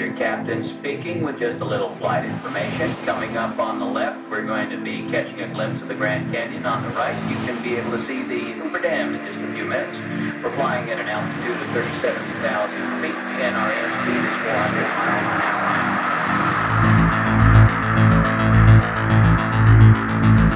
your captain speaking with just a little flight information. Coming up on the left, we're going to be catching a glimpse of the Grand Canyon. On the right, you can be able to see the Hoover Dam in just a few minutes. We're flying at an altitude of 37,000 feet, and our airspeed is 400 miles an hour.